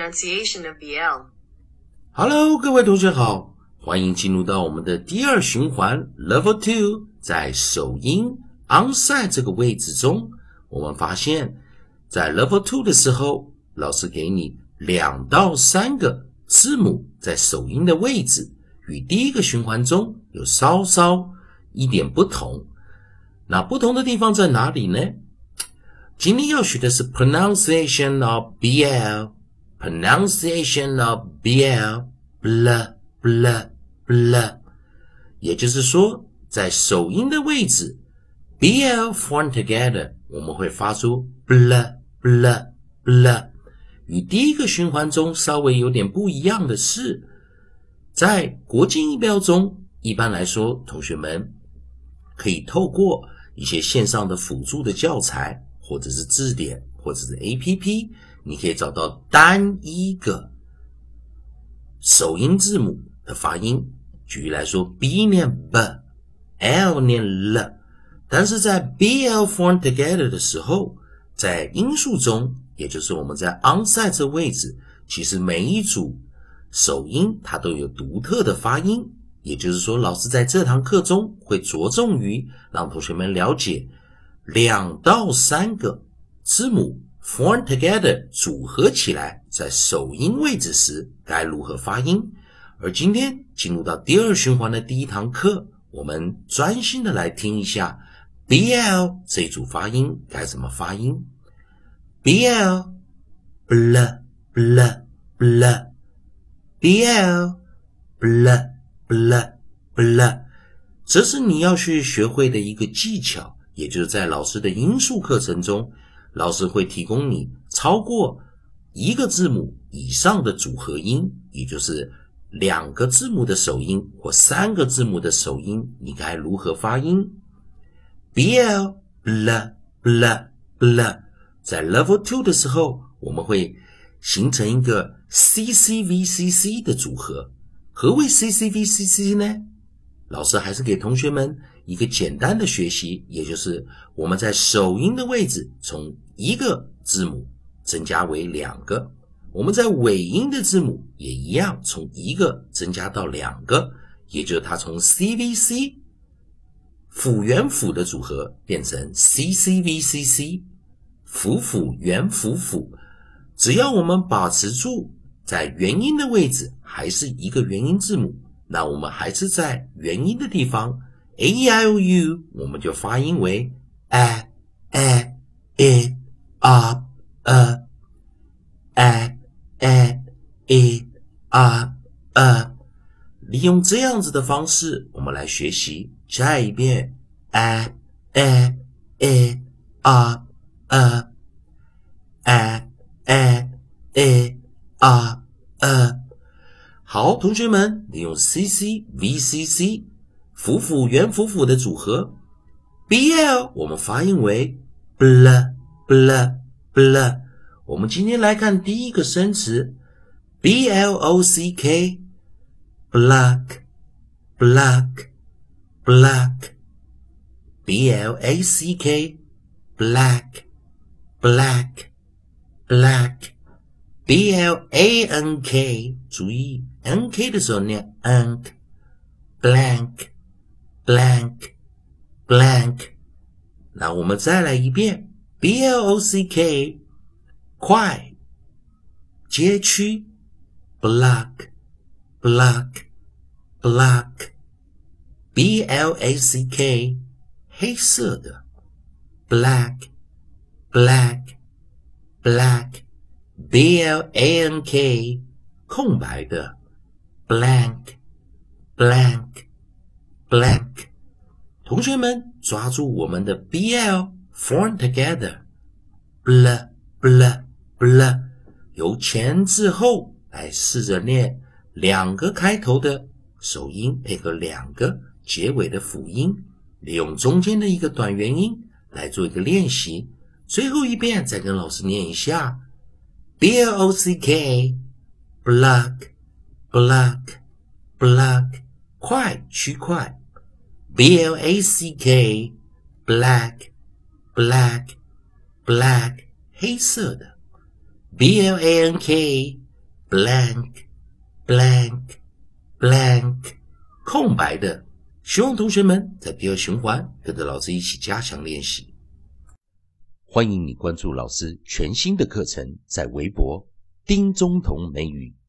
pronunciation of BL. Hello， 各位同学好，欢迎进入到我们的第二循环 Level 2。在首音 onside 这个位置中，我们发现在 Level 2的时候，老师给你2到3个字母在首音的位置，与第一个循环中有稍稍一点不同。那不同的地方在哪里呢？今天要学的是 pronunciation of BL， pronunciation of BL， blah blah blah， 也就是说在首音的位置 BL form together， 我们会发出 blah blah blah。 与第一个循环中稍微有点不一样的是，在国际音标中，一般来说同学们可以透过一些线上的辅助的教材，或者是字典，或者是 APP， 你可以找到单一个首音字母的发音。举例来说 B 念 B，L 念 L， 但是在 BL form together 的时候，在音数中，也就是我们在 onside 这位置，其实每一组首音它都有独特的发音，也就是说老师在这堂课中会着重于让同学们了解2到3个字母 form together 组合起来在首音位置时该如何发音。而今天进入到第二循环的第一堂课，我们专心的来听一下 BL 这一组发音该怎么发音。 BL blah blah blah， BL blah blah blah， 这是你要去学会的一个技巧，也就是在老师的音数课程中，老师会提供你超过1个字母以上的组合音，也就是2个字母的首音或3个字母的首音，你该如何发音。 BL blah blah blah， 在 Level 2的时候，我们会形成一个 CCVCC 的组合。何谓 CCVCC 呢？老师还是给同学们一个简单的学习，也就是我们在首音的位置从1个字母增加为2个，我们在尾音的字母也一样，从1个增加到2个，也就是它从 CVC 辅元辅的组合变成 CCVCC 辅辅元辅辅。只要我们保持住在元音的位置还是1个元音字母，那我们还是在元音的地方 AEIOU， 我们就发音为 a a e a a a a e a a。 利用这样子的方式，我们来学习。下一遍 a a e a a a a e a a。 好，同学们，利用 CCVCC 辅辅元辅辅的组合 BL 我们发音为 blah blah blah。 我们今天来看第一个生词 BLOCK， block block block， BLACK black black black， BLANK 注意 NK 的时候念 ank blank blank blank。 那我们再来一遍 BLOCK 快街区 block block block， BLACK 黑色的 black black black， BLANK 空白的 blank blank blank。 同学们抓住我们的 BL form together blah blah blah， 由前至后来试着念2个开头的首音配合2个结尾的辅音，利用中间的一个短元音来做一个练习。最后一遍再跟老师念一下 BLOCK block block block， 快区块 BLACK black black black 黑色的 BLANK blank blank blank 空白的。希望同学们在第二循环跟着老师一起加强练习。欢迎你关注老师全新的课程，在微博丁中同美语